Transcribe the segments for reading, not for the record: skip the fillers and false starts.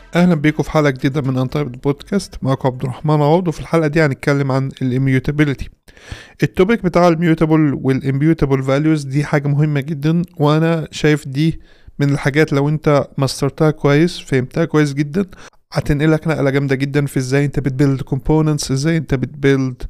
اهلا بيكم في حلقه جديده من انتايب بودكاست. معكم عبد الرحمن عوض، وفي الحلقه دي هنتكلم عن الاميوتابيليتي. التوبيك بتاع الميوتابل والاميوتابل فاليوز دي حاجه مهمه جدا، وانا شايف دي من الحاجات لو انت ماسترتها كويس فهمتها كويس جدا هتنقلك نقله جامده جدا في ازاي انت بتبيلد كومبوننتس، ازاي انت بتبيلد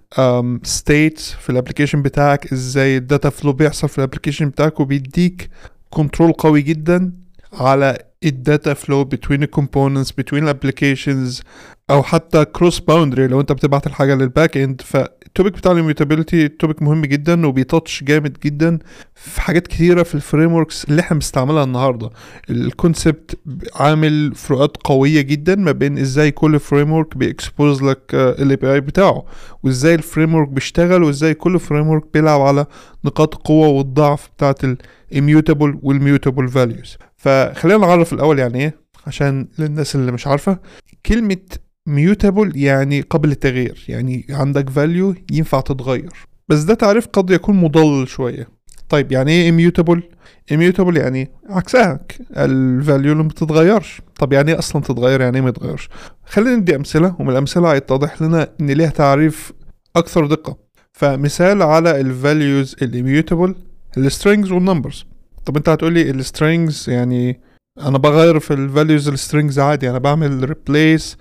ستيتس في الابلكيشن بتاعك، ازاي الداتا فلو بيحصل في الابلكيشن بتاعك، وبيديك كنترول قوي جدا على الداتا فلو between the components between applications او حتى cross boundary لو انت بتبعت الحاجه للباك اند. فالتوبيك بتاع الميوتابيليتي توبيك مهم جدا وبيتاتش جامد جدا في حاجات كتيره في الفريم وركس اللي احنا بنستعملها النهارده. الكونسبت عامل فروقات قويه جدا ما بين ازاي كل فريم ورك بيكسبوز لك الاي بي اي بتاعه، وازاي الفريم ورك بيشتغل، وازاي كل فريم ورك بيلعب على نقاط القوه والضعف بتاعه الاميوتابل والميوتابل فاليوز. فخلينا نعرف الأول يعني إيه عشان للناس اللي مش عارفة. كلمة mutable يعني قبل التغيير، يعني عندك value ينفع تتغير، بس ده تعريف قد يكون مضلل شوية. طيب يعني إيه immutable؟ immutable يعني عكسها الvalue اللي ما بتتغيرش. طب يعني إيه أصلا تتغير؟ يعني إيه ما يتغيرش؟ خلينا ندي أمثلة، ومن الأمثلة هيتضح لنا إن ليها تعريف أكثر دقة. فمثال على الvalues immutable الstrings والnumbers. طب انت هتقولي السترينجز يعني انا بغير في الفاليوز السترينجز عادي، انا بعمل ريبليس،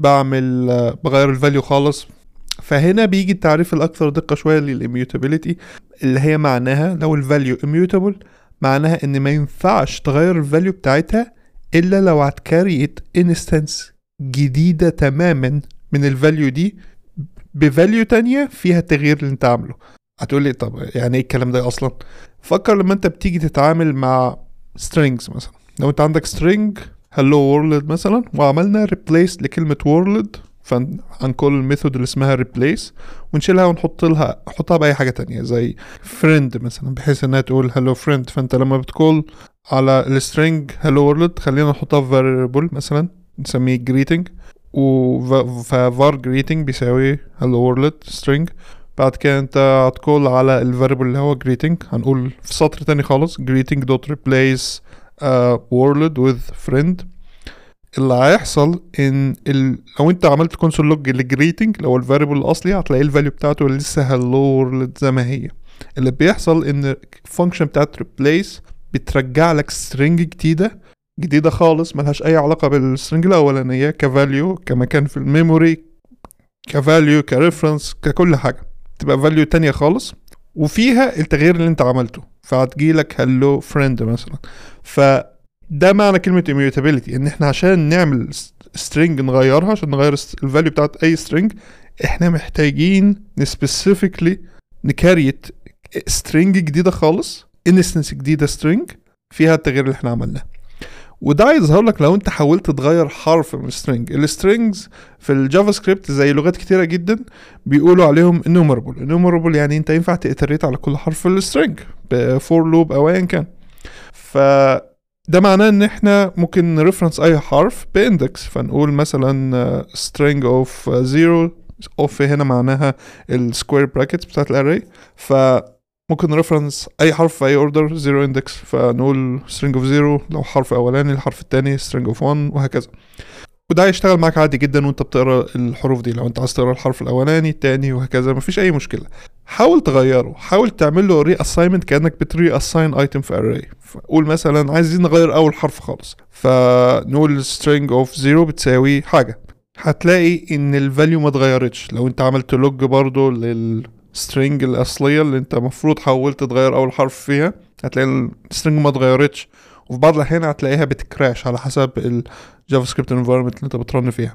بغير الفاليو خالص. فهنا بيجي التعريف الاكثر دقة شوية للاميوتابيليتي، اللي هي معناها لو الفاليو اميوتابل معناها ان ما ينفعش تغير الفاليو بتاعتها الا لو هتكريت انستنس جديدة تماما من الفاليو دي بفاليو تانية فيها التغيير اللي انت عامله. هتقولي طب يعني ايه الكلام ده اصلا؟ فكر لما انت بتيجي تتعامل مع strings مثلا. لو انت عندك string hello world مثلا وعملنا replace لكلمة world، فهنقول الميثود اللي اسمها replace ونشيلها نحطها بأي حاجة تانية زي friend مثلا، بحيث انها تقول hello friend. فانت لما بتقول على السترينج hello world خلينا نحطها في variable مثلا نسميه greeting، فvar greeting بيساوي hello world string. بعد كده انت هتقول على الفاريبل اللي هو greeting، هنقول في سطر تاني خالص greeting dot replace world with friend. اللي هيحصل ان لو انت عملت console log للgreeting لو الفاريبل الاصلي هتلاقي الفاليو بتاعته لسه hello world زي ما هي. اللي بيحصل ان الفانكشن بتاعت replace بترجع لك string جديدة خالص ملهاش اي علاقة بالstring الاولانية، كفاليو، كمكان في الميموري، كفاليو، كريفرنس، ككل حاجة، تبقى فاليو تانية خالص وفيها التغيير اللي انت عملته، فهتجيلك hello friend مثلا. فده معنى كلمة immutability، ان احنا عشان نعمل string نغيرها، عشان نغير الفاليو بتاعت اي string احنا محتاجين specifically نكريت string جديدة خالص، instance جديدة string فيها التغيير اللي احنا عملناه. وده يظهر لك لو انت حاولت تغير حرف من السترينج. السترينجز في الجافا سكريبت زي لغات كتيرة جدا بيقولوا عليهم enumerable يعني انت ينفع تأتريت على كل حرف في السترينج بفور لوب او ايا كان. فده معناه ان احنا ممكن نرفرنس اي حرف باندكس، فنقول مثلا string of 0 of هنا معناها السكوير براكتس بتاعت الاري، ممكن ريفرنس اي حرف في اي اوردر 0 اندكس، فنقول string of 0 لو حرف اولاني، الحرف التاني string of 1 وهكذا. وده هيشتغل معاك عادي جدا وانت بتقرا الحروف دي، لو انت عايز تقرا الحرف الاولاني التاني وهكذا مفيش اي مشكله. حاول تغيره، حاول تعمل له ري اساينمنت كانك بتري اساين ايتم في اري. فقول مثلا عايزين نغير اول حرف خالص، فنقول string of 0 بتساوي حاجه، هتلاقي ان الفاليو ما اتغيرتش. لو انت عملت لوج برضو string الأصلية اللي انت مفروض حاولت تغير أول حرف فيها هتلاقي السترينج ما اتغيرتش، وفي بعض الأحيان هتلاقيها بتكراش على حسب الجافا سكريبت انفايرمنت اللي انت بترن فيها.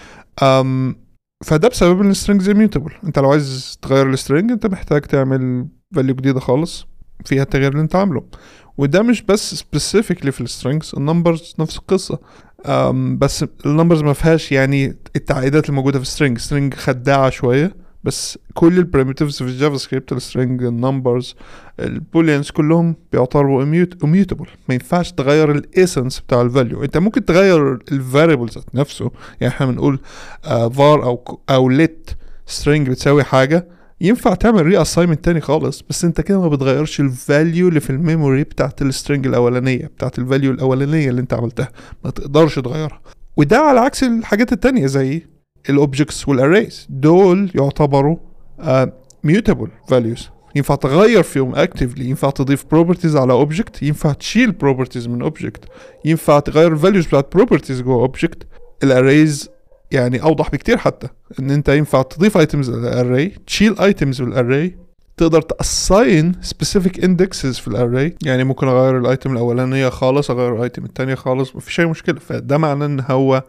فده بسبب ان السترينجز immutable. انت لو عايز تغير السترينج انت محتاج تعمل فاليو جديدة خالص فيها التغيير اللي انت عامله. وده مش بس specifically في السترينجز، النمبرز نفس القصة. بس النمبرز ما فيهاش يعني التعقيدات الموجودة في السترينج خداعة شوية، بس كل البريميتيفز في الجافا سكريبت السترينج النمبرز البوليانز كلهم بيعتبروا immutable. ما ينفعش تغير الاسنس بتاع الفاليو. انت ممكن تغير الفاريبل ذات نفسه، يعني احنا بنقول var او let string بتساوي حاجه، ينفع تعمل ري اساينمنت تاني خالص، بس انت كده ما بتغيرش الفاليو اللي في الميموري بتاعت السترينج الاولانيه، بتاعت الفاليو الاولانيه اللي انت عملتها، ما تقدرش تغيرها. وده على عكس الحاجات التانية زي الاوبجكتس والاريز، دول يعتبروا mutable values، ينفع تغير فيهم actively، ينفع تضيف properties على object، ينفع تشيل properties من object، ينفع تغير values بتاعت properties جوه object. الاريز يعني اوضح بكتير، حتى ان انت ينفع تضيف items للاري، تشيل items بالاري، تقدر تاساين specific indexes في الاري، يعني ممكن اغير الايتم الاولانيه خالص، اغير الايتم الثانيه خالص، مفيش اي مشكله. فده معناه ان هو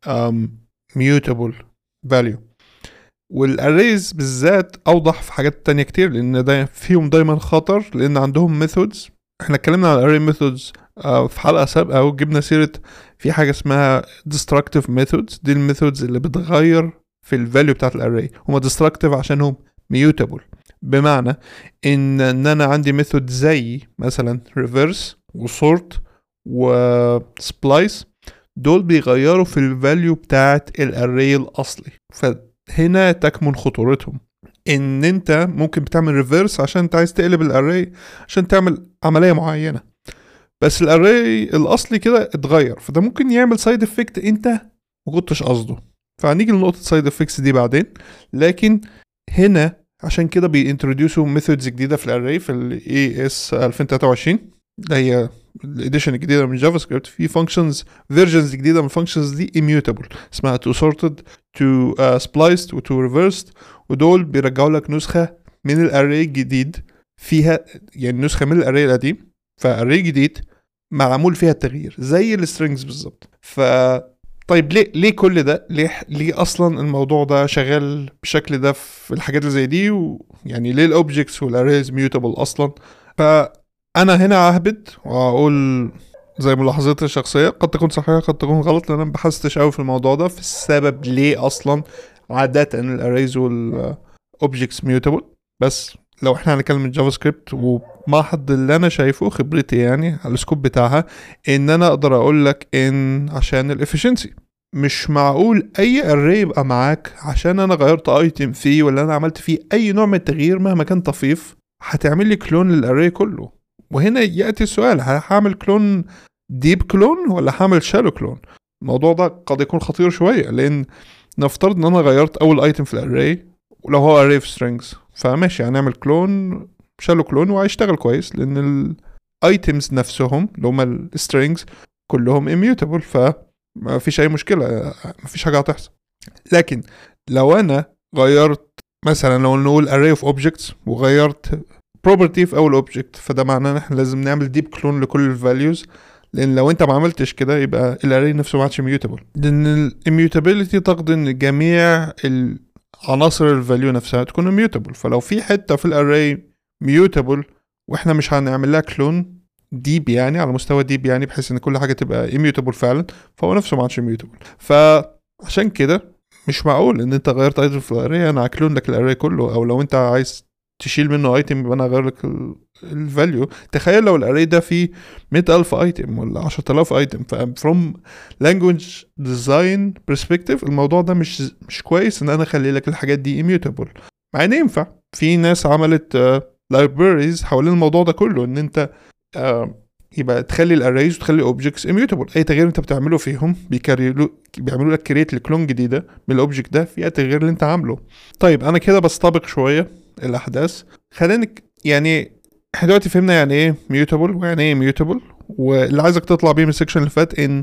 mutable value. والاريز بالذات اوضح في حاجات تانية كتير، لان ده فيهم دايما خطر، لان عندهم methods. احنا اتكلمنا عن الاري methods في حلقه سابقه، وجبنا سيره في حاجه اسمها destructive methods. دي الميثودز اللي بتغير في الفاليو بتاعت الاري. هما destructive عشانهم mutable، بمعنى ان انا عندي ميثود زي مثلا reverse وsort وsplice، دول بيغيروا في الفاليو بتاعت الاري الاصلي. فهنا تكمن خطورتهم، ان انت ممكن بتعمل ريفيرس عشان انت عايز تقلب الاري عشان تعمل عملية معينة، بس الاري الاصلي كده اتغير، فده ممكن يعمل سايد افكت انت ما كنتش قصده. فهنيجي لنقطة سايد افكتس دي بعدين. لكن هنا عشان كده بينتروديوسوا ميثودز جديدة في الاري في ال AS 2023، اللي هي الاديشن الجديدة من جافا سكريبت. في فانكشنز فيرجنز جديدة من الفانكشنز دي immutable، اسمها to sorted to spliced و to reversed، ودول بيرجعوا لك نسخة من الاري الجديد فيها، يعني نسخة من الاري القديم فاري جديد معمول فيها التغيير زي السترينجز بالظبط. طيب ليه كل ده؟ ليه اصلا الموضوع ده شغال بالشكل ده في الحاجات اللي زي دي؟ ويعني ليه الاوبجكتس والاريز ميوتابل اصلا؟ فانا هنا ههبد واقول زي ملاحظتي الشخصيه، قد تكون صحيحه قد تكون غلط، لان انا بحثتش قوي في الموضوع ده في السبب ليه اصلا عاده الاريز والاوبجكتس ميوتابل. بس لو احنا هنتكلم من جافا سكريبت وما حد اللي انا شايفه خبرتي يعني على السكوب بتاعها، ان انا اقدر اقول لك ان عشان الافشنسي مش معقول اي اري يبقى معاك عشان انا غيرت ايتم فيه ولا انا عملت فيه اي نوع من التغيير مهما كان طفيف هتعمل لي كلون للاري كله. وهنا ياتي السؤال، هعمل كلون ديب كلون ولا هعمل شالو كلون؟ الموضوع ده قد يكون خطير شويه، لان نفترض ان انا غيرت اول ايتم في الاري، ولو هو array of strings فماشي هنعمل كلون شالو كلون وهيشتغل كويس، لان الايتمز نفسهم اللي هما السترينجز كلهم immutable، فما فيش اي مشكله، ما فيش حاجه هتحصل. لكن لو انا غيرت مثلا، لو نقول array of objects وغيرت property في اول object، فده معناه ان احنا لازم نعمل deep clone لكل الفاليوز، لان لو انت ما عملتش كده يبقى الاري نفسه ما عادش immutable، لان immutability تقضي ان جميع عناصر الفاليو نفسها تكون mutable. فلو في حته في الاري mutable واحنا مش هنعمل لها كلون ديب، يعني على مستوى ديب، يعني بحيث ان كل حاجه تبقى immutable فعلا، فهو نفسه ما عادش mutable. فعشان كده مش معقول ان انت غيرت ايتم في الاري انا هكلون لك الاري كله، او لو انت عايز تشيل منه ايتم يبقى انا اغير لك الفاليو. تخيل لو الاري ده فيه 100,000 ايتم ولا 10,000 ايتم، from language design perspective الموضوع ده مش كويس ان انا اخلي لك الحاجات دي immutable. مع ان ينفع، في ناس عملت libraries حوالين الموضوع ده كله، ان انت يبقى تخلي الاريز وتخلي objects immutable. اي تغيير انت بتعمله فيهم بيعملوا لك create لكلون جديده من الاوبجكت ده فيها التغيير اللي انت عامله. طيب انا كده بستبق شويه الاحداث، خلينا يعني احنا دلوقتي فهمنا يعني ايه mutable ويعني ايه immutable، واللي عايزك تطلع بيه من السكشن اللي فات ان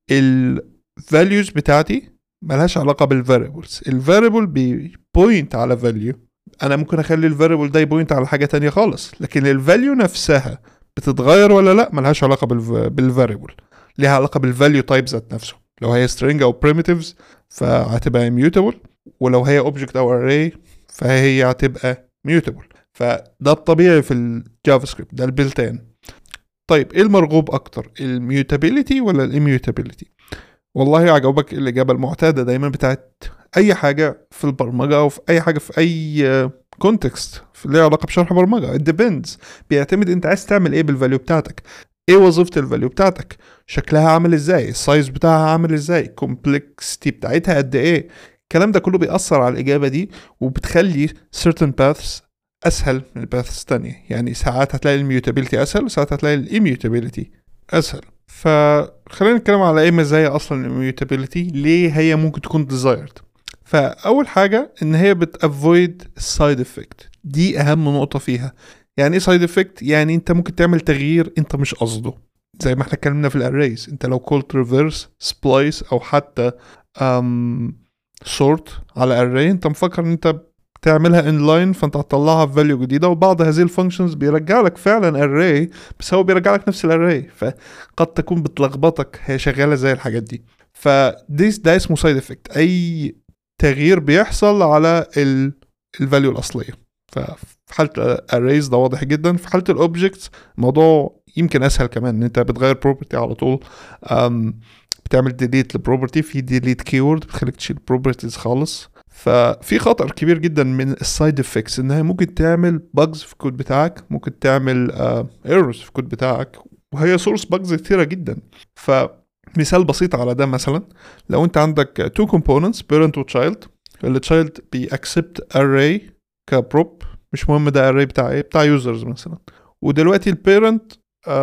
الفاليوز بتاعتي ملهاش علاقه بالفاريبلز. الفاريبل بيبوينت على فاليو، انا ممكن اخلي الفاريبل ده يبوينت على حاجه تانية خالص، لكن الفاليو نفسها بتتغير ولا لا ملهاش علاقه بالفاريبل، ليها علاقه بالفاليو تايب ذات نفسه. لو هي string او primitives فهتبقى immutable، ولو هي object او array فهي هتبقى mutable. فده الطبيعي في الجافا سكريبت، ده البلتين. طيب ايه المرغوب اكتر، الميوتابيليتي ولا الاميوتابيليتي؟ والله عجبك الاجابه المعتاده دايما بتاعت اي حاجه في البرمجه او في اي حاجه في اي كونتكست اللي له علاقه بشرح برمجه. it depends، بيعتمد انت عايز تعمل ايه بالفاليو بتاعتك، ايه وظيفه الفاليو بتاعتك، شكلها عامل ازاي، السايز بتاعها عامل ازاي، كومبلكسيتي بتاعتها قد ايه. الكلام ده كله بيأثر على الإجابة دي، وبتخلي certain paths أسهل من paths تانية. يعني ساعات هتلاقي الميوتابيلتي أسهل، وساعات هتلاقي الإميوتابيلتي أسهل. فخلينا نتكلم على ايه مزايا اصلا الاميوتابيليتي، ليه هي ممكن تكون desired. فاول حاجه ان هي بتافويد السايد افكت، دي اهم نقطه فيها. يعني ايه سايد افكت؟ يعني انت ممكن تعمل تغيير انت مش قصده، زي ما احنا اتكلمنا في الاريز. انت لو قلت ريفرس سبلايس او حتى سورت على array، انت مفكر ان انت تعملها inline، فانت هتطلعها في value جديدة، وبعض هذه الفانكشنز بيرجع لك فعلا array، بس هو بيرجع لك نفس الاري، فقد تكون بتلخبطك هي شغالة زي الحاجات دي. ده اسمه سايد افكت، اي تغيير بيحصل على الفاليو الاصلية. ففي حالة arrays ده واضح جدا. في حالة الاوبجكتس الموضوع يمكن اسهل كمان، ان انت بتغير property على طول، بتعمل ديليت لبروبرتي، في ديليت كيورد بتخليك تشيل بروبرتيز خالص. ففي خطر كبير جدا من السايد افكتس، انها ممكن تعمل باجز في الكود بتاعك، ممكن تعمل ايرورز في الكود بتاعك، وهي سورس باجز كتيره جدا. فمثال بسيط على ده، مثلا لو انت عندك two components parent و child، التشايلد بيأكسبت array كبروب، مش مهم ده array بتاع ايه، بتاع يوزرز مثلا، ودلوقتي البيرنت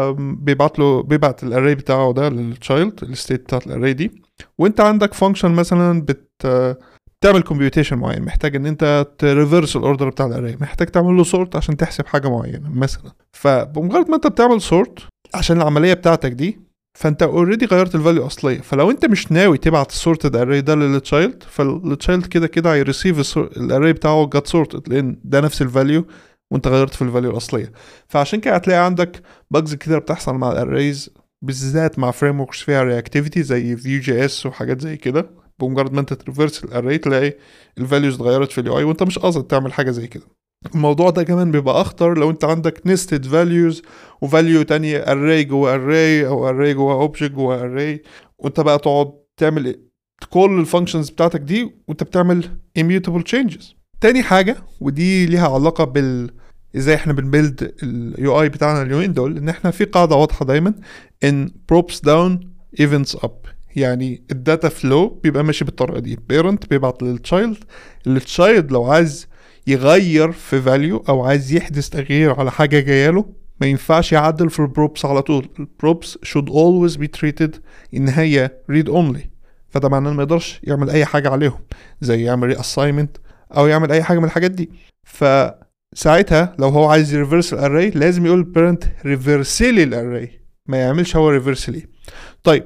بيبعت الاري بتاعه ده للتشايلد، الستيت بتاعت الاري دي. وانت عندك فانكشن مثلا بتعمل كومبيوتيشن معين، محتاج ان انت تريفرس الاوردر بتاع الاري، محتاج تعمل له سورت عشان تحسب حاجه معينه مثلا. فبمجرد ما انت بتعمل سورت عشان العمليه بتاعتك دي، فانت اوريدي غيرت الفاليو اصليه. فلو انت مش ناوي تبعت السورتد اري ده للتشايلد، فالتشايلد كده كده هيريسيف الاري بتاعه جات سورتد، لان ده نفس الفاليو وانت غيرت في الفاليو الاصليه. فعشان كده هتلاقي عندك باجز كتير بتحصل مع الاريز، بالذات مع فريم وركس فيها رياكتيفيتي زي فيو جي اس وحاجات زي كده. بمجرد ما انت تريفرس الاري تلاقي الفاليوز اتغيرت في اليو اي وانت مش قاصد تعمل حاجه زي كده. الموضوع ده كمان بيبقى اخطر لو انت عندك نستد فاليوز وفاليو تانية، اري جوه اري او اري جوه اوبجكت جوه اري، وانت بقى تقعد تعمل كل الفانكشنز بتاعتك دي وانت بتعمل immutable changes. تاني حاجة، ودي ليها علاقة ازاي احنا بنبيلد اليو اي بتاعنا اليومين دول، ان احنا في قاعدة واضحة دايما ان props down events up. يعني الداتا فلو بيبقى ماشي بالطريقة دي، parent بيبعت للتشايلد، التشايلد لو عايز يغير في value او عايز يحدث تغيير على حاجة جاية ما ينفعش يعدل في البروبس على طول. البروبس should always be treated ان هي read only، فده معناه ما يقدرش يعمل اي حاجة عليهم، زي يعمل reassignment او يعمل اي حاجة من الحاجات دي. فساعتها لو هو عايز يريفرس الاري لازم يقول parent ريفرسلي الاري، ما يعملش هو ريفرسلي. طيب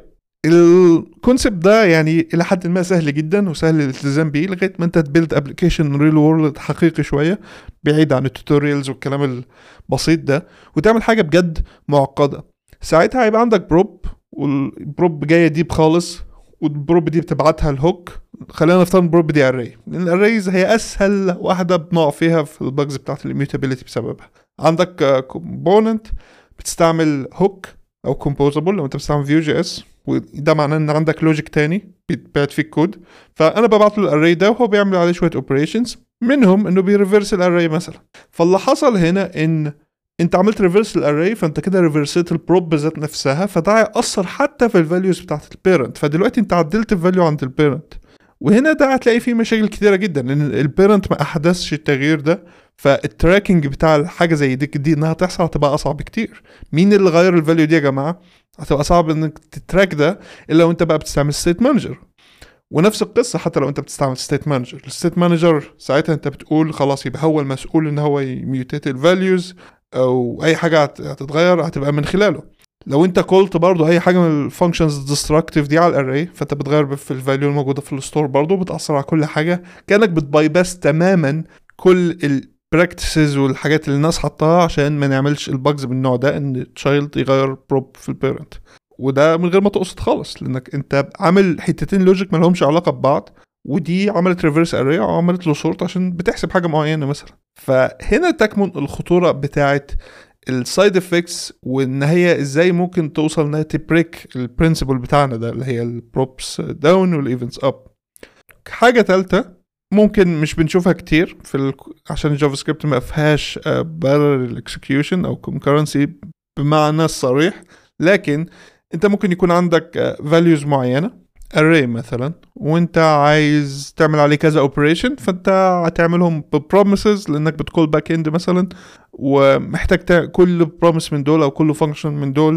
الكونسبت ده يعني الى حد ما سهل جدا وسهل الالتزام بيه لغايه ما انت تبيلد ابلكيشن ريل وورلد حقيقي شويه، بعيد عن التوتوريالز والكلام البسيط ده، وتعمل حاجه بجد معقده. ساعتها هيبقى عندك بروب، والبروب جايه ديب خالص، والبروب دي بتبعتها الهوك. خلينا نفترض البروب دي اري، لان الاريز هي اسهل واحده بنقع فيها في الباجز بتاعت الاميوتابيليتي بسببها. عندك كومبوننت بتستعمل هوك او كومبوزابل لو انت بتستعمل فيو جي اس، وده معناه ان عندك لوجيك تاني بيتبعت فيه الكود. فانا ببعت له الاري ده وهو بيعمل عليه شويه اوبريشنز، منهم انه بيريفرس الاري مثلا. فاللي حصل هنا ان انت عملت ريفرس الاري، فانت كده ريفرسيت البروب ذات نفسها، فده هيأثر حتى في الفاليوز بتاعت البيرنت. فدلوقتي انت عدلت الفاليو عند البيرنت، وهنا ده هتلاقي فيه مشاكل كتيره جدا، لان البيرنت ما احدثش التغيير ده. فالتراكنج بتاع الحاجه زي دي انها تحصل هتبقى اصعب كتير. مين اللي غير الفاليو دي يا جماعه؟ هتبقى صعب انك تتراك ده الا لو انت بقى بتستعمل ستيت مانجر. ونفس القصه حتى لو انت بتستعمل ستيت مانجر، الستيت مانجر ساعتها انت بتقول خلاص يبقى هو المسؤول ان هو يميوتيت الفاليوز، او اي حاجه هتتغير هتبقى من خلاله. لو انت قلت برضو اي حاجه من الفانكشنز ديستراكتيف دي على الاري، فانت بتغير في الفاليو الموجوده في الستور برضو، بتاثر على كل حاجه، كانك بتبايباس تماما كل البراكتسز والحاجات اللي الناس حطها عشان ما نعملش الباجز من النوع ده، ان تشايلد يغير بروب في البيرنت، وده من غير ما تقصد خالص، لانك انت عامل حتتين لوجيك ما لهمش علاقه ببعض، ودي عملت ريفرس اري او عملت له سورت عشان بتحسب حاجه معينه مثلا. فهنا تكمن الخطوره بتاعه السايد افكتس، وان هي ازاي ممكن توصل انها تبريك البرنسبل بتاعنا ده اللي هي البروبس داون والايفنتس اب. حاجه ثالثه ممكن مش بنشوفها كتير عشان الجافا سكريبت ما فيهاش parallel execution او concurrency بمعنى الصريح، لكن انت ممكن يكون عندك values معينه array مثلا، وانت عايز تعمل عليه كذا operation، فانت هتعملهم بpromises لانك بتقول باك اند مثلا، ومحتاج كل promise من دول او كل function من دول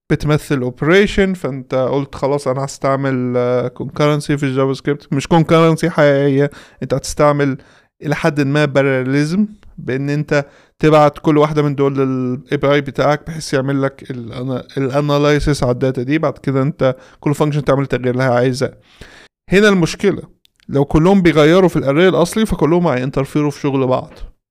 بتمثل operation، فانت قلت خلاص انا هستعمل concurrency في الجافا سكريبت، مش concurrency حقيقية، انت هتستعمل الى حد ما parallelism، بان انت تبعت كل واحدة من دول لل API بتاعك بحيث يعمل لك الاناليسيس على الداتا دي، بعد كده انت كل فانكشن تعمل التغيير اللي هي عايزاه. هنا المشكلة لو كلهم بيغيروا في الاري الاصلي فكلهم هينترفيروا في شغل بعض،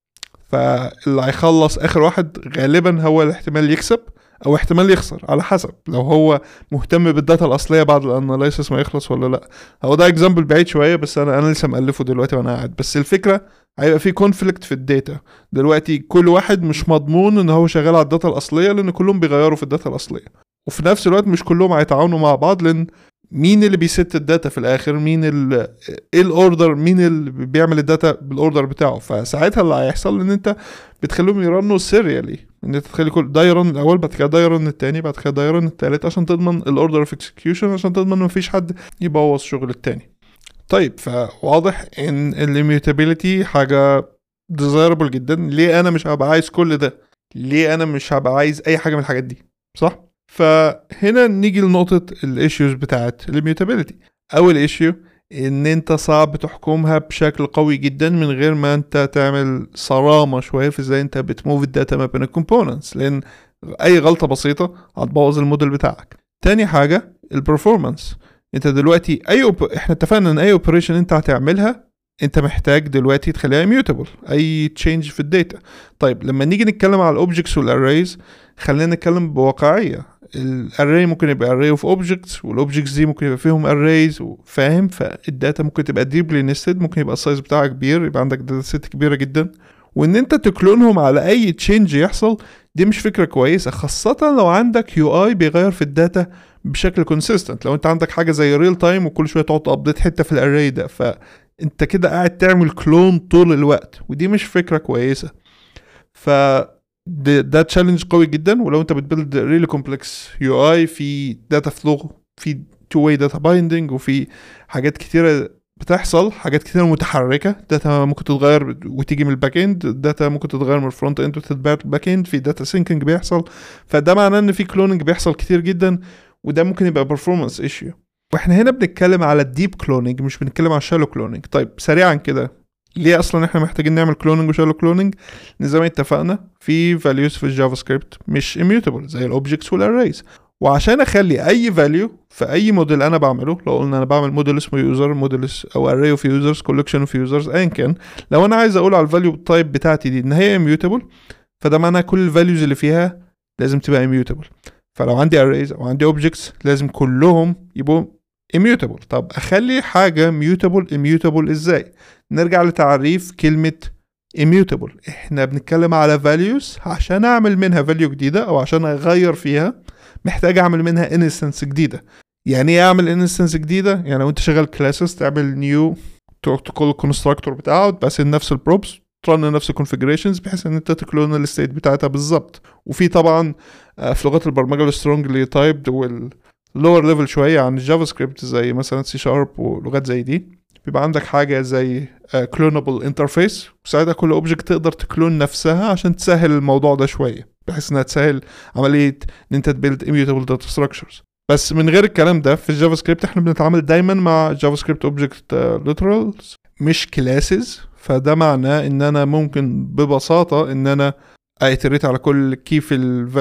فاللي هيخلص اخر واحد غالبا هو الاحتمال يكسب او احتمال يخسر على حسب لو هو مهتم بالداتا الاصليه بعد الاناليسيس ما يخلص ولا لا. هو ده اكزامبل بعيد شويه، بس انا لسه مالفه دلوقتي وانا قاعد. بس الفكره هيبقى في كونفليكت في الداتا دلوقتي، كل واحد مش مضمون ان هو شغال على الداتا الاصليه لان كلهم بيغيروا في الداتا الاصليه، وفي نفس الوقت مش كلهم هيتعاونوا مع بعض، لان مين اللي بيست الداتا في الاخر، مين ايه الاوردر، مين اللي بيعمل الداتا بالاوردر بتاعه. فساعتها اللي هيحصل ان انت بتخليهم يرنوا سيريالي، ان انت تخلي كل ده يرن الاول، بعد كده ده يرن التاني، بعد كده ده يرن التالت، عشان تضمن الاوردر اوف اكسكيوشن، عشان تضمن مفيش حد يبوظ شغل التاني. طيب فواضح ان الاميوتابيليتي حاجه ديزايربل جدا. ليه انا مش هبقى عايز كل ده؟ ليه انا مش هبقى عايز اي حاجه من الحاجات دي؟ صح. فهنا نيجي لنقطة الايشيوز بتاعت الاميوتابيليتي. اول ايشيو ان انت صعب تحكمها بشكل قوي جدا من غير ما انت تعمل صرامة شوية في ازاي انت بتموف الداتا ما بين الكومبوننتس، لان اي غلطة بسيطة هتبوظ الموديل بتاعك. تاني حاجة البرفورمانس. انت دلوقتي احنا اتفقنا ان اي اوبريشن انت هتعملها انت محتاج دلوقتي تخليها immutable، اي تشينج في الداتا. طيب لما نيجي نتكلم على الاوبجكتس والاريز، خلينا نتكلم بواقعية. الاري ممكن يبقى array of objects، والاوبجكتس دي ممكن يبقى فيهم arrays، فاهم؟ فالداتا ممكن تبقى deeply nested، ممكن يبقى السايز بتاعها كبير، يبقى عندك داتا سيت كبيرة جدا، وان انت تكلونهم على اي تشينج يحصل دي مش فكرة كويسة، خاصة لو عندك UI بيغير في الداتا بشكل consistent. لو انت عندك حاجة زي real time وكل شوية تقعد تابديت حتة في الاري ده، فانت كده قاعد تعمل كلون طول الوقت، ودي مش فكرة كويسة. ده تشالنج قوي جدا. ولو انت بتبيلد ريلي كومبلكس يو اي في داتا فلو، في تو واي داتا بايندنج، وفي حاجات كتيره بتحصل، حاجات كتيره متحركه، داتا ممكن تتغير وتيجي من الباك اند، داتا ممكن تتغير من الفرونت اند وتتبعت الباك اند، في داتا سينكينج بيحصل، فده معناه ان في كلوننج بيحصل كتير جدا، وده ممكن يبقى performance issue. واحنا هنا بنتكلم على الديب كلوننج، مش بنتكلم على الشالو كلوننج. طيب سريعا كده، ليه اصلا احنا محتاجين نعمل كلوننج وشالو كلوننج؟ زي ما اتفقنا في values في الجافا سكريبت مش immutable زي الاوبجكتس والاريز، وعشان اخلي اي value في اي موديل انا بعمله، لو قلنا انا بعمل موديل اسمه يوزر، موديل او array of users، collection of users، ايا كان، لو انا عايز اقول على الفاليو تايب بتاعتي دي ان هي immutable، فده معناه كل الفاليوز اللي فيها لازم تبقى immutable. فلو عندي arrays او عندي objects لازم كلهم يبقوا immutable. طب اخلي حاجة immutable ازاي؟ نرجع لتعريف كلمة immutable. احنا بنتكلم على values، عشان اعمل منها value جديدة او عشان اغير فيها محتاج اعمل منها instance جديدة. يعني ايه اعمل instance جديدة؟ يعني لو انت شغال classes تعمل new، تقول constructor بتاعه، تبقى نفس البروبس، ترن نفس الكونفيجريشنز بحيث ان انت تكلون الستيت بتاعتها بالظبط. وفي طبعا في لغات البرمجة السترونجلي تايبد واللور ليفل شوية عن الجافا سكريبت زي مثلا سي شارب ولغات زي دي، بيبقى عندك حاجة زي كلونابل انترفيس، وساعتها كل اوبجكت تقدر تكلون نفسها عشان تسهل الموضوع ده شوية، بحيث انها تسهل عملية ان انت تبيلد immutable data structures. بس من غير الكلام ده في الجافا سكريبت احنا بنتعامل دايما مع جافا سكريبت اوبجكت ليترالز مش كلاسز. فده معناه ان انا ممكن ببساطة ان انا ايتريت على كل كي في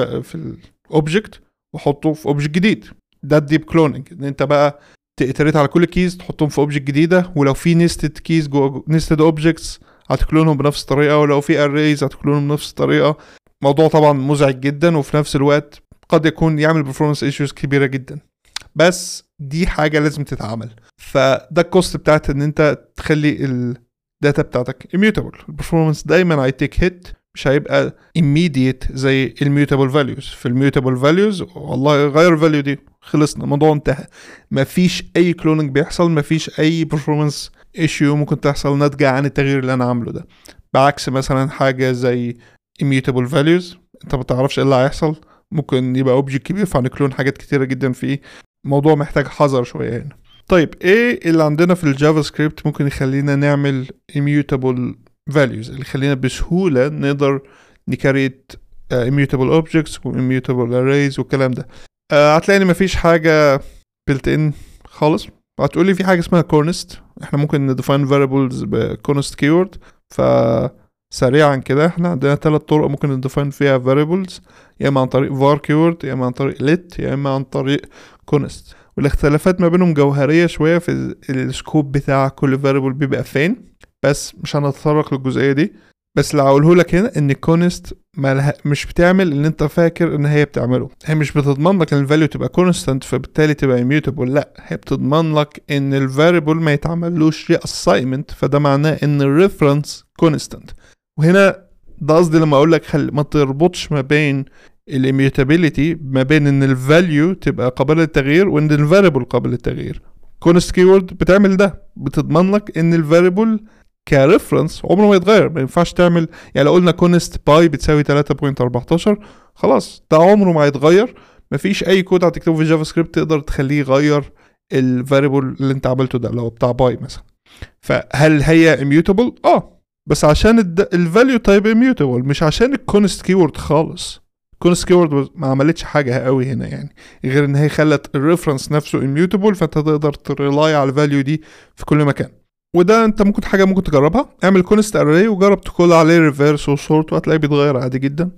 الاوبجكت واحطه في اوبجكت جديد. ده الديب كلوننج، ان انت بقى تيتريت على كل كيز تحطهم في اوبجكت جديده، ولو في نيستد كيز جوه نيستد اوبجكتس هتكلونهم بنفس الطريقه، ولو في اريز هتكلونهم بنفس الطريقه. موضوع طبعا مزعج جدا، وفي نفس الوقت قد يكون يعمل performance issues كبيره جدا، بس دي حاجه لازم تتعمل. فده الكوست بتاعت ان انت تخلي الداتا بتاعتك immutable. البرفورمانس دايما هيتيك هيت، مش هيبقى immediate زي الميوتابل values. في الميوتابل values والله غير الفاليو دي خلصنا، الموضوع انتهى، مفيش اي كلوننج بيحصل، مفيش اي performance issue ممكن تحصل ناتجة عن التغيير اللي انا عامله ده. بعكس مثلا حاجة زي immutable values انت ما تعرفش ايه اللي هيحصل، ممكن يبقى اوبجكت كبير فهنكلون حاجات كتيرة جدا فيه. الموضوع محتاج حذر شوية هنا. طيب ايه اللي عندنا في الجافا سكريبت ممكن يخلينا نعمل immutable values، اللي يخلينا بسهولة نقدر نكريت immutable objects و immutable arrays والكلام ده؟ هتلاقي ان مفيش حاجه built in خالص. هتقولي في حاجه اسمها كونست، احنا ممكن نديفاين variables بكونست كيورد. فسريعا كده احنا عندنا 3 طرق ممكن نديفاين فيها variables، يا اما عن طريق var keyword، يا اما عن طريق let، يا اما عن طريق كونست. والاختلافات ما بينهم جوهريه شويه في السكوب بتاع كل variable بيبقى فين، بس مش هنتطرق للجزئيه دي. بس اللي هقوله لك هنا ان كونست مش بتعمل اللي انت فاكر ان هي بتعمله. هي مش بتضمن لك ان الفاليو تبقى كونستانت فبالتالي تبقى immutable، لا، هي بتضمن لك ان الفاريبل ما يتعملوش reassignment، فده معناه ان الريفرنس كونستانت. وهنا ده قصدي لما اقول لك ما تربطش ما بين الاميوتابيليتي ما بين ان الفاليو تبقى قابله للتغيير وان الفاريبل قابل للتغيير. كونست كيورد بتعمل ده، بتضمن لك ان الفاريبل كريفرنس عمره ما يتغير. ما ينفعش تعمل يعني لو قلنا كونست باي بتساوي 3.14 خلاص ده عمره ما يتغير. مفيش اي كود هتكتبه في جافا سكريبت تقدر تخليه يغير الفاريبل اللي انت عملته ده لو بتاع باي مثلا. فهل هي immutable؟ بس عشان الفاليو تايب immutable، مش عشان الكونست كيورد خالص. الكونست كيورد ما عملتش حاجه قوي هنا يعني، غير ان هي خلت الريفرنس نفسه immutable، فانت تقدر تريلاي على الفاليو دي في كل مكان. وده انت ممكن تجربها. اعمل كونست اري وجرب تكول عليه ريفيرس وسورت وهتلاقيه بيتغير عادي جدا.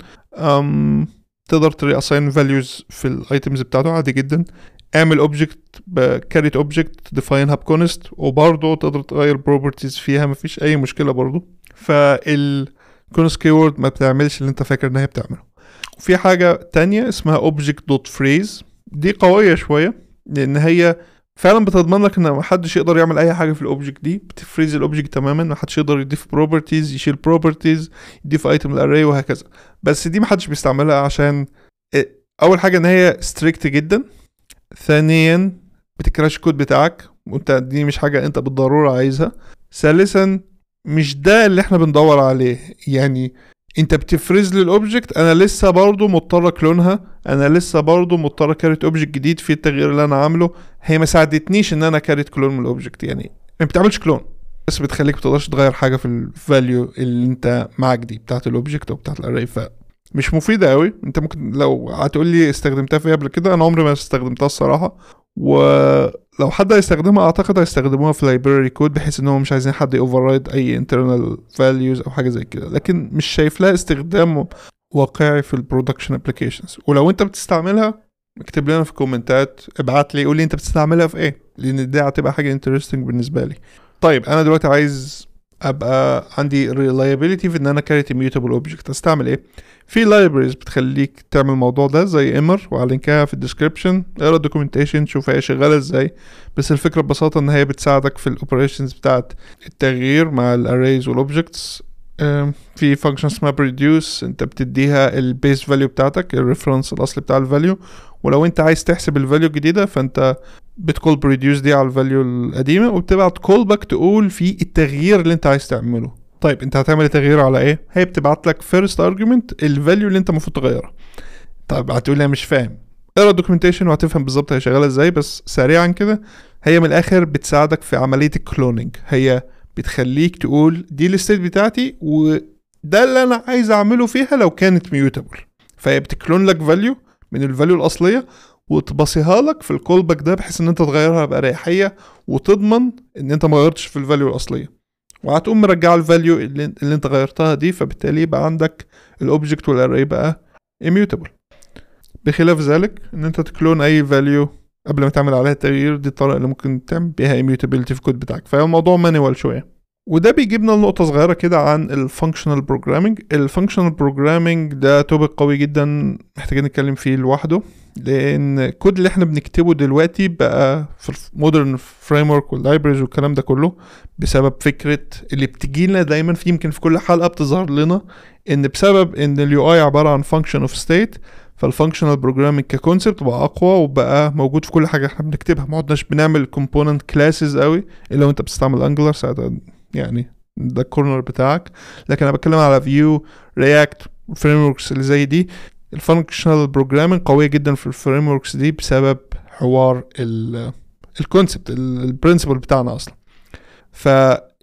تقدر تري اساين فاليوز في الايتمز بتاعته عادي جدا. اعمل اوبجكت بكاريت اوبجكت ديفاينها بكونست وبرضه تقدر تغير بروبرتيز فيها، مفيش اي مشكله برضه. فالكونست كيورد ما بتعملش اللي انت فاكر ان هي بتعمله. وفي حاجه تانية اسمها object.phrase، دي قويه شويه لان هي فعلا بتضمن لك ان محدش يقدر يعمل اي حاجه في الاوبجكت دي. بتفريز الاوبجكت تماما، محدش يقدر يضيف بروبرتيز، يشيل بروبرتيز، يضيف ايتم الاري وهكذا. بس دي محدش بيستعملها عشان اول حاجه ان هي ستريكت جدا، ثانيا بتكراش الكود بتاعك وانت دي مش حاجه انت بالضروره عايزها، ثالثا مش ده اللي احنا بندور عليه. يعني انت بتفرز لي الاوبجكت، انا لسه برضو مضطر اكلونها، انا لسه برضو مضطر كاريت اوبجكت جديد في التغيير اللي انا عامله. هي ما ساعدتنيش ان انا كاريت كلون من الاوبجكت، يعني ما بتعملش كلون بس بتخليك ما تقدرش تغير حاجه في الفاليو اللي انت معاك دي بتاعه الاوبجكت او بتاعه الاري. فمش مفيده قوي. انت ممكن لو هتقول لي استخدمتها في قبل كده، انا عمري ما استخدمتها الصراحه. ولو حد هيستخدمها اعتقد هيستخدموها في لايبراري كود بحيث ان هم مش عايزين حد يوفررايد اي internal values او حاجه زي كده، لكن مش شايف لها استخدام واقعي في البرودكشن ابلكيشنز. ولو انت بتستعملها اكتب لنا في الكومنتات، ابعت لي قول لي انت بتستعملها في ايه، لان دي هتبقى حاجه انترستنج بالنسبه لي. طيب انا دلوقتي عايز ابقى عندي reliability في ان انا كاريت immutable object، استعمل ايه؟ في libraries بتخليك تعمل الموضوع ده زي emmer وهلينكها في الديسكريبشن. اقرا الدوكيومنتيشن شوف هي شغاله ازاي. بس الفكره ببساطه ان هي بتساعدك في الاوبريشنز بتاعت التغيير مع الاريز والاوبجكتس. في فانكشن اسمها بريديوس، انت بتديها البيس فاليو بتاعتك، الريفرنس الاصلي بتاع الفاليو، ولو انت عايز تحسب الفاليو الجديده فانت بتكول بريديوس دي على الفاليو القديمه وبتبعت كول باك تقول في التغيير اللي انت عايز تعمله. طيب انت هتعمل التغيير على ايه؟ هي بتبعت لك فيرست ارجيومنت الفاليو اللي انت المفروض تغيرها. طيب هتقول لي مش فاهم، اقرا الدوكيومنتيشن وهتفهم بالظبط هي شغاله ازاي. بس سريعا كده، هي من الاخر بتساعدك في عمليه الكلوننج. هي بتخليك تقول دي الستيت بتاعتي وده اللي انا عايز اعمله فيها لو كانت ميوتابل. فهي بتكلون لك فاليو من الفاليو الاصليه وتبصيها لك في الكول باك ده بحيث ان انت تغيرها باريحيه وتضمن ان انت ما غيرتش في الفاليو الاصليه، وهتقوم مرجع الفاليو اللي انت غيرتها دي. فبالتالي يبقى عندك الاوبجكت والاري بقى immutable. بخلاف ذلك ان انت تكلون اي فاليو قبل ما تعمل عليها التغيير، دي الطريقه اللي ممكن تعمل بيها immutability في الكود بتاعك. فهو الموضوع مانيوال شويه. وده بيجيبنا لنقطه صغيره كده عن الفانكشنال بروجرامينج. الفانكشنال بروجرامينج ده توبيك قوي جدا محتاجين نتكلم فيه لوحده، لان الكود اللي احنا بنكتبه دلوقتي بقى في المودرن فريم ورك واللايبرز والكلام ده كله بسبب فكره اللي بتجيلنا دايما في يمكن في كل حلقه بتظهر لنا، ان بسبب ان اليو اي عباره عن فانكشن اوف ستيت، فالفانكشنال بروجرامينج ككونسبت بقى اقوى وبقى موجود في كل حاجه احنا بنكتبها. ما عدناش بنعمل كومبوننت كلاسز قوي الا لو انت بتستعمل انجلر ساعتها، يعني ده الكورنر بتاعك. لكن انا بتكلم على فيو، رياكت، فريم وركس اللي زي دي. الفانكشنال بروجرامينج قويه جدا في الفريم وركس دي بسبب حوار الكونسبت البرنسبل بتاعنا اصلا. ف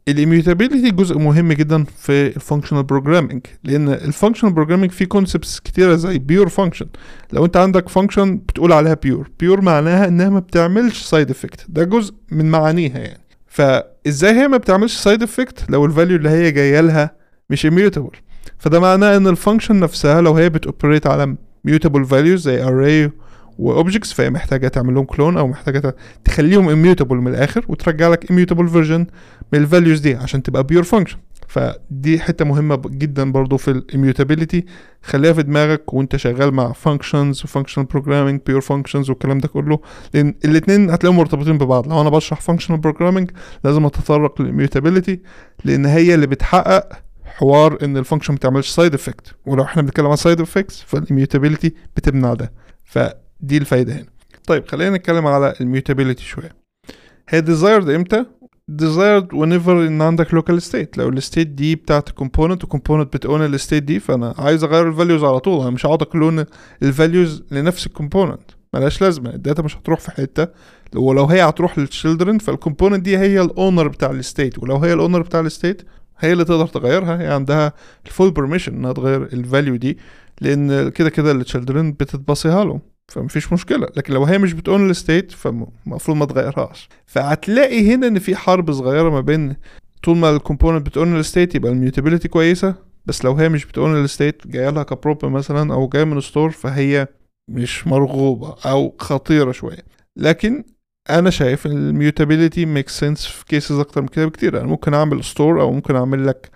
الاميوتابيليتي جزء مهم جدا في الفانكشنال بروجرامينج، لان الفانكشنال بروجرامينج فيه كونسبتس كتيره زي بيور فانكشن. لو انت عندك فانكشن بتقول عليها بيور معناها انها ما بتعملش سايد افكت، ده جزء من معانيها يعني. فازاي هي ما بتعملش سايد افكت لو الفاليو اللي هي جايه لها مش immutable؟ فده معناه ان الفانكشن نفسها لو هي بتوبريت على mutable values زي array واوبجكتس، فهي محتاجه تعمل لهم كلون او محتاجه تخليهم immutable من الاخر وترجع لك immutable version من الفاليوز دي عشان تبقى بيور فانكشن. فدي حته مهمه جدا برضو في الاميوتابيليتي، خليها في دماغك وانت شغال مع functions وفانكشنال بروجرامينج بيور فانكشنز والكلام ده كله، لان الاثنين هتلاقيهم مرتبطين ببعض. لو انا بشرح فانكشنال بروجرامينج لازم اتطرق للاميوتابيليتي، لان هي اللي بتحقق حوار ان الفانكشن ما تعملش سايد افكت، ولو احنا بنتكلم عن سايد افكتس فالاميوتابيليتي بتمنع ده. فدي الفايده هنا. طيب خلينا نتكلم على الميوتابيليتي شويه. هي desired امتى؟ desired whenever ان عندك local state. لو الستيت دي بتاعت component وcomponent بتقون الستيت دي، فانا عايز اغير الفاليوز على طول. انا مش هقعد اكلون الفاليوز لنفس الكومبوننت، ملهاش لازمه. الداتا مش هتروح في حته، ولو هي هتروح للchildren فالكومبوننت دي هي الاونر بتاع الستيت، ولو هي الاونر بتاع الستيت هي اللي تقدر تغيرها. هي عندها الفول بيرميشن انها تغير الفاليو دي، لان كده كده الchildren بتتبصيها لهم، فمفيش مشكلة. لكن لو هي مش بتقول الستيت فالمفروض ما تغيرها. فهتلاقي هنا ان في حرب صغيرة ما بين طول ما الكومبوننت بتقول الستيت يبقى الميوتابيليتي كويسة، بس لو هي مش بتقول الستيت جايه لها كبروب مثلا او جايه من ستور فهي مش مرغوبة او خطيرة شوية. لكن انا شايف الميوتابيليتي ميك سنس في كيسز اكتر من كده بكتير. انا ممكن اعمل ستور او ممكن اعمل لك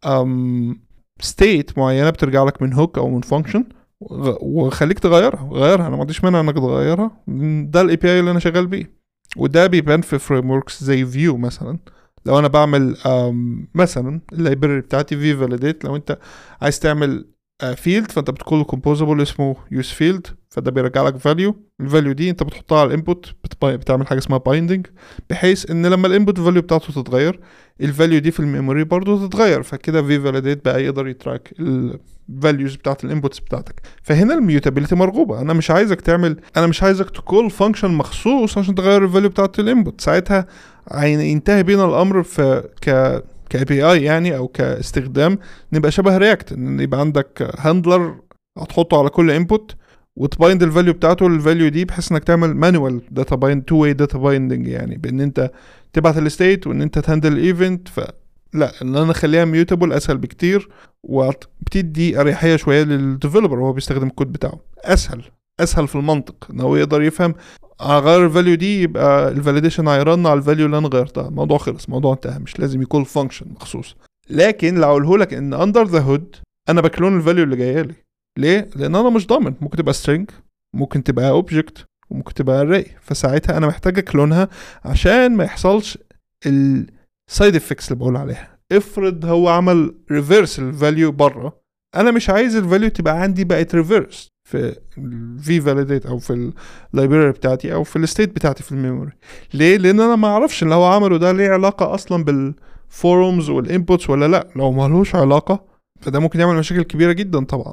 ستيت معينة بترجع لك من هوك او من فانكشن وخليك غيرها. انا ما عنديش مانع انك تغيرها، ده الاي بي اي اللي انا شغال بيه. وده بيبان في فريم وركس زي فيو مثلا. لو انا بعمل مثلا اللايبراري بتاعتي في فاليديت، لو انت عايز تعمل فيلد فانت بتقول له كومبوزبل اسمه يوز فيلد، فده بيرجع لك فاليو. الفاليو دي انت بتحطها على الانبوت، بتعمل حاجه اسمها بايندنج، بحيث ان لما الانبوت فاليو بتاعته تتغير الفاليو دي في الميموري برضو تتغير. فكده في فاليديت بقى يقدر يتراك الفاليوز بتاعت الانبوتس بتاعتك. فهنا الميوتابيليتي مرغوبه. انا مش عايزك تكول فانكشن مخصوص عشان تغير الفاليو بتاعت الانبوت. ساعتها ينتهي بينا الامر في كاي بي اي يعني او كاستخدام نبقى شبه رياكت، ان يبقى عندك هاندلر هتحطه على كل انبوت وتبايند الفاليو بتاعته للفاليو دي، بحيث انك تعمل مانوال داتا بايند، تو واي داتا بايندنج، يعني بان انت تبعت الستيت وان انت تهندل الايفنت. لا، ان انا اخليها ميوتابل اسهل بكتير، وبتدي اريحيه شويه للديفلوبر وهو بيستخدم الكود بتاعه. اسهل في المنطق ان هو يقدر يفهم اغير الفاليو دي يبقى الفاليديشن هيرن على الفاليو اللي انا غيرتها، الموضوع خلص، الموضوع انتهى، مش لازم يكون فانكشن مخصوص. لكن لو اقوله لك ان اندر ذا هود انا بكلون الفاليو اللي جايه لي، ليه؟ لان انا مش ضامن، ممكن تبقى string، ممكن تبقى اوبجكت، وممكن تبقى array. فساعتها انا محتاج اكلونها عشان ما يحصلش السايد افكتس اللي بقول عليها. افرض هو عمل ريفيرس الفاليو بره، انا مش عايز الفاليو تبقى عندي بقت ريفيرس في في فاليديت او في اللايبراري بتاعتي او في الستيت بتاعتي في الميموري. ليه؟ لان انا ما اعرفش اللي هو عمله ده ليه علاقه اصلا بالفورمز والانبوتس ولا لا. لو ما لهوش علاقه فده ممكن يعمل مشاكل كبيره جدا طبعا.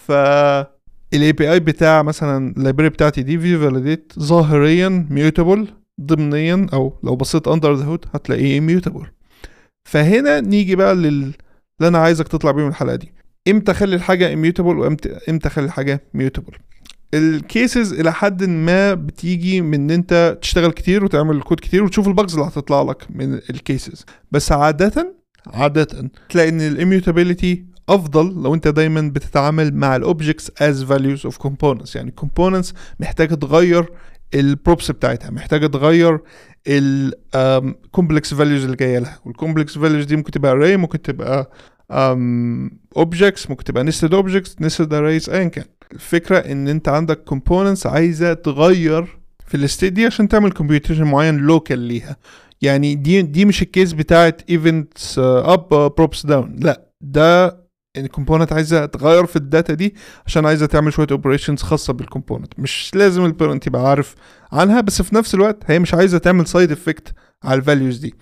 الاي بي اي بتاع مثلا اللايبراري بتاعتي دي في فاليديت ظاهريا ميوتابل، ضمنيا او لو بصيت اندر ذا هود هتلاقيه ميوتابل. فهنا نيجي بقى اللي انا عايزك تطلع بيه من الحلقه دي. امتى اخلي الحاجه اميوتابل وامتى اخلي الحاجه ميوتابل؟ الكيسز الى حد ما بتيجي من ان انت تشتغل كتير وتعمل كود كتير وتشوف الباجز اللي هتطلع لك من الكيسز. بس عاده تلاقي ان الاميوتابيليتي افضل لو انت دايما بتتعامل مع الاوبجكتس از فاليوز اوف كومبوننتس. يعني كومبوننتس محتاجه تغير البروبس بتاعتها، محتاجه تغير الكومبلكس فاليوز اللي جايه لها، والكومبلكس فاليوز دي ممكن تبقى array، ممكن تبقى objects، ممكن تبقى nested objects، nested arrays، ايا كان. الفكره ان انت عندك components عايزه تغير في الستيت دي عشان تعمل computation معين لوكال ليها. يعني دي مش الكيس بتاعت events up props down، لا، ده ان الكومبوننت عايزه تغير في الداتا دي عشان عايزه تعمل شويه اوبريشنز خاصه بالكومبوننت. مش لازم البيرنت يبقى عارف عنها، بس في نفس الوقت هي مش عايزه تعمل سايد افكت على الفاليوز دي.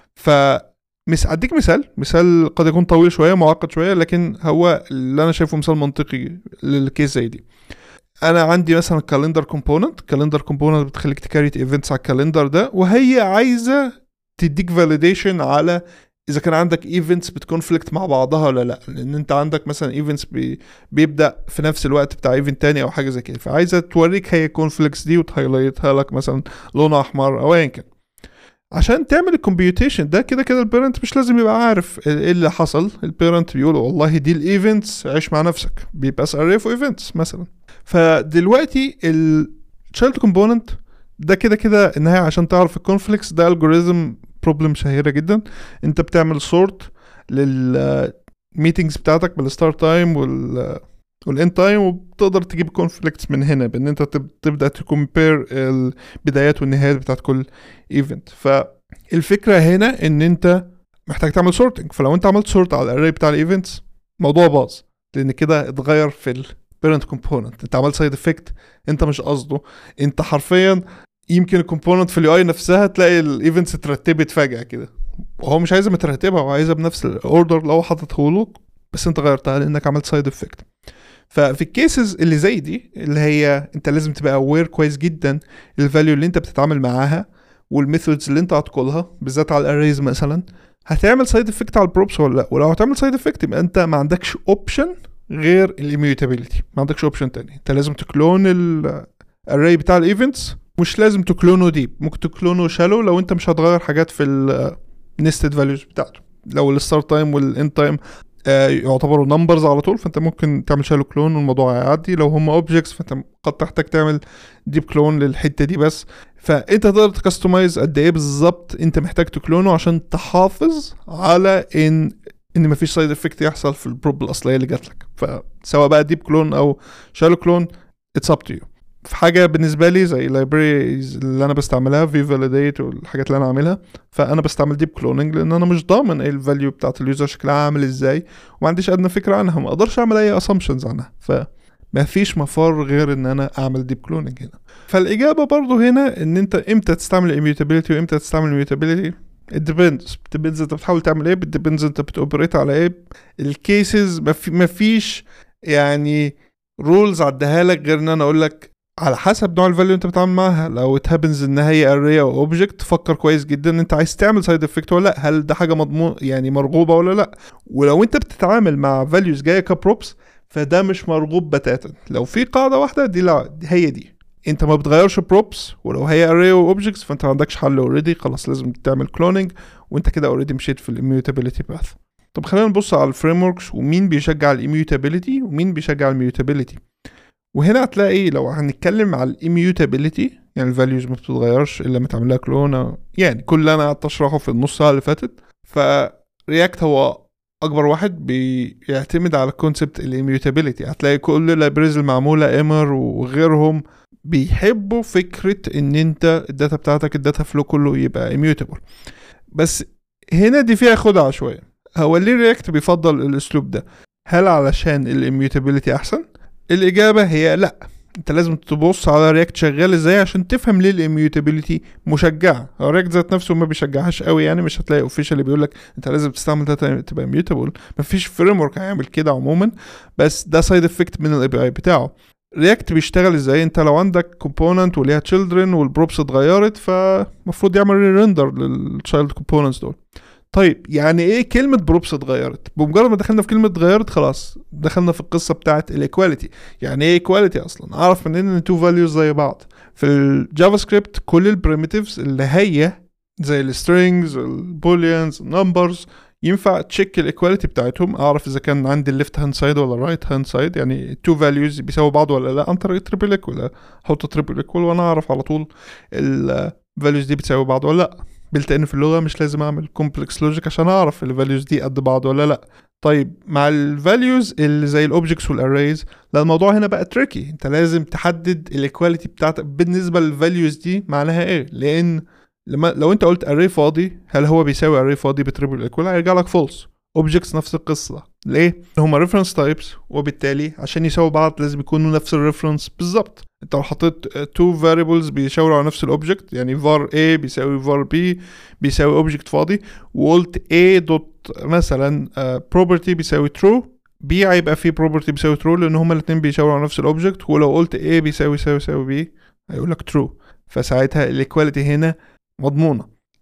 اديك مثال قد يكون طويل شويه معقد شويه، لكن هو اللي انا شايفه مثال منطقي للكيس زي دي. انا عندي مثلا كالندر كومبوننت بتخليك تكريت ايفنتس على الكالندر ده، وهي عايزه تديك فاليديشن على اذا كان عندك ايفنتس بتكونفليكت مع بعضها ولا لا، لان انت عندك مثلا ايفنتس بيبدا في نفس الوقت بتاع ايفنت تاني او حاجه زي كده، فعايزه توريك هي الكونفليكتس دي وتهايلايتها لك مثلا لون احمر او ايا كان. عشان تعمل الكمبيوتيشن ده كده كده البيرنت مش لازم يبقى عارف ايه اللي حصل. البيرنت بيقول والله دي الايفنتس، عيش مع نفسك، بيبقى اري اوف ايفنتس مثلا. فدلوقتي التشايلد كومبوننت ده كده كده النهايه عشان تعرف الكونفليكتس ده الجوريزم بروبلم شهيره جدا. انت بتعمل سورت للميتنجز بتاعتك بالستارت تايم والاند تايم، وبتقدر تجيب كونفليكتس من هنا بان انت تبدا تكمبير البدايات والنهايات بتاعت كل ايفنت. فالفكره هنا ان انت محتاج تعمل سورتنج، فلو انت عملت سورت على الاري بتاع الايفنتس الموضوع باظ، لان كده اتغير في البيرنت كومبوننت. انت عملت سايد افكت انت مش قصده. انت حرفيا يمكن الكومبوننت في اليو اي نفسها تلاقي الايفنتس اترتبت فجاه كده، وهو مش عايزها مترتبه، هو عايزها بنفس الاوردر اللي هو حاططه له، بس انت غيرتها لانك عملت سايد افكت. ففي الكيسز اللي زي دي اللي هي انت لازم تبقى اوير كويس جدا الفاليو اللي انت بتتعامل معاها والميثودز اللي انت هتقولها، بالذات على الاريز مثلا، هتعمل سايد افكت على البروبس ولا لا. ولو هتعمل سايد افكت يبقى انت ما عندكش اوبشن غير الاميوتابيلتي، ما عندكش اوبشن تاني. انت لازم تكلون الاري بتاع الايفنتس، مش لازم تكلونه ديب، ممكن تكلونه شالو لو انت مش هتغير حاجات في النستد فاليوز بتاعته. لو الستارت تايم والاند تايم يعتبروا نمبرز على طول، فانت ممكن تعمل شالو كلون والموضوع هيعدي. لو هم اوبجكتس فانت قد تحتاج تعمل ديب كلون للحته دي بس. فانت تقدر تكستمايز قد ايه بالظبط انت محتاج تكلونه عشان تحافظ على ان مفيش سايد افكت يحصل في البروب الاصليه اللي جات لك. فسواء بقى ديب كلون او شالو كلون اتس اب تو يو. في حاجه بالنسبه لي زي libraries اللي انا بستعملها في فاليديت والحاجات اللي انا عاملها، فانا بستعمل ديب كلوننج لان انا مش ضامن ايه الفاليو بتاعت اليوزر شكلها عامل ازاي، وما عنديش ادنى فكره عنها، ما اقدرش اعمل اي assumptions عنها، فما فيش مفر غير ان انا اعمل ديب كلوننج هنا. فالاجابه برضو هنا ان انت امتى تستعمل immutability وامتى تستعمل immutability it depends انت بتحاول تعمل ايه، depends انت بتوبريت على ايه. الكيسز ما فيش يعني رولز عدها لك غير ان انا اقول لك على حسب نوع الفاليو انت بتتعامل معاها. لو اتهابنز ان هي array او اوبجكت، فكر كويس جدا انت عايز تعمل سايد افكت ولا لا، هل ده حاجه مضمون يعني مرغوبه ولا لا. ولو انت بتتعامل مع فاليوز جايه كبروبس فده مش مرغوب بتاتا. لو في قاعده واحده دي، لا هي دي، انت ما بتغيرش بروبس، ولو هي array او اوبجكتس فانت ما عندكش حل اوريدي، خلاص لازم تعمل كلوننج، وانت كده اوريدي مشيت في الاميوتابيليتي باث. طب خلينا نبص على الفريم وركس ومين بيشجع الاميوتابيليتي ومين بيشجع الميوتابيليتي. وهنا هتلاقي لو هنتكلم على الاميوتابيليتي يعني الفاليوز ما بتتغيرش الا ما تعمل لها كلون، يعني كل اللي انا قعدت اشرحه في النص ساعه اللي فاتت. فرياكت هو اكبر واحد بيعتمد على كونسبت الاميوتابيليتي. هتلاقي كل اللايبريز المعموله ايمر وغيرهم بيحبوا فكره ان انت الداتا بتاعتك الداتا فلو كله يبقى اميوتابل. بس هنا دي فيها خدعه شويه. هو ليه رياكت بيفضل الاسلوب ده؟ هل علشان الاميوتابيليتي احسن؟ الإجابة هي لأ. انت لازم تبص على رياكت شغال ازاي عشان تفهم ليه الاميوتابيليتي مشجعة. رياكت ذات نفسه ما بيشجعهاش قوي، يعني مش هتلاقي اوفيشال اللي بيقولك انت لازم تستعمل داتا تبقى اميوتابل، مفيش فريم ورك هيعمل كده عموما، بس ده سايد افكت من الاي بي اي بتاعه. رياكت بيشتغل ازاي؟ انت لو عندك كومبوننت وليها تشيلدرن والبروبس اتغيرت، فمفروض يعمل ريندر للتشايلد كومبوننتس دول. طيب يعني ايه كلمة بروبس اتغيرت؟ بمجرد ما دخلنا في كلمة اتغيرت خلاص دخلنا في القصة بتاعت الايكواليتي. يعني ايه ايكواليتي اصلا؟ اعرف منين ان تو فاليوز زي بعض؟ في الجافا سكريبت كل البريميتيفز اللي هي زي السترينجز البوليانز النمبرز ينفع تشيك الايكواليتي بتاعتهم، اعرف اذا كان عندي الليفت هاند سايد ولا الرايت هاند سايد، يعني تو فاليوز بيساوي بعض ولا لا، عن طريق تريبل ايكوال. احط تريبل ايكوال وانا اعرف على طول الفاليوز دي بتساوي بعض ولا لا. بلتقن في اللغة مش لازم اعمل كومبلكس لوجيك عشان اعرف الفاليوز دي قد بعض ولا لا. طيب مع الفاليوز اللي زي الاوبجكتس والاريز، لا الموضوع هنا بقى تريكي. انت لازم تحدد الايكواليتي بتاعتك بالنسبة للفاليوز دي معناها ايه، لان لو انت قلت array فاضي هل هو بيساوي array فاضي بتريبل ايكوال، هيرجع لك فولس. اوبجكتس نفس القصة، ليه؟ هما ريفرنس تايبس، وبالتالي عشان يساوي بعض لازم يكونوا نفس الريفرنس بالظبط. انت لو حطيت two variables بيشاوروا على نفس الاوبجكت، يعني var a بيساوي var b بيساوي اوبجكت فاضي، وقلت a دوت مثلا property بيساوي true، b هيبقى فيه property بيساوي true لان هما الاثنين بيشاوروا على نفس الاوبجكت. ولو قلت a بيساوي b هيقول لك true، فساعتها الايكواليتي هنا مضمونة.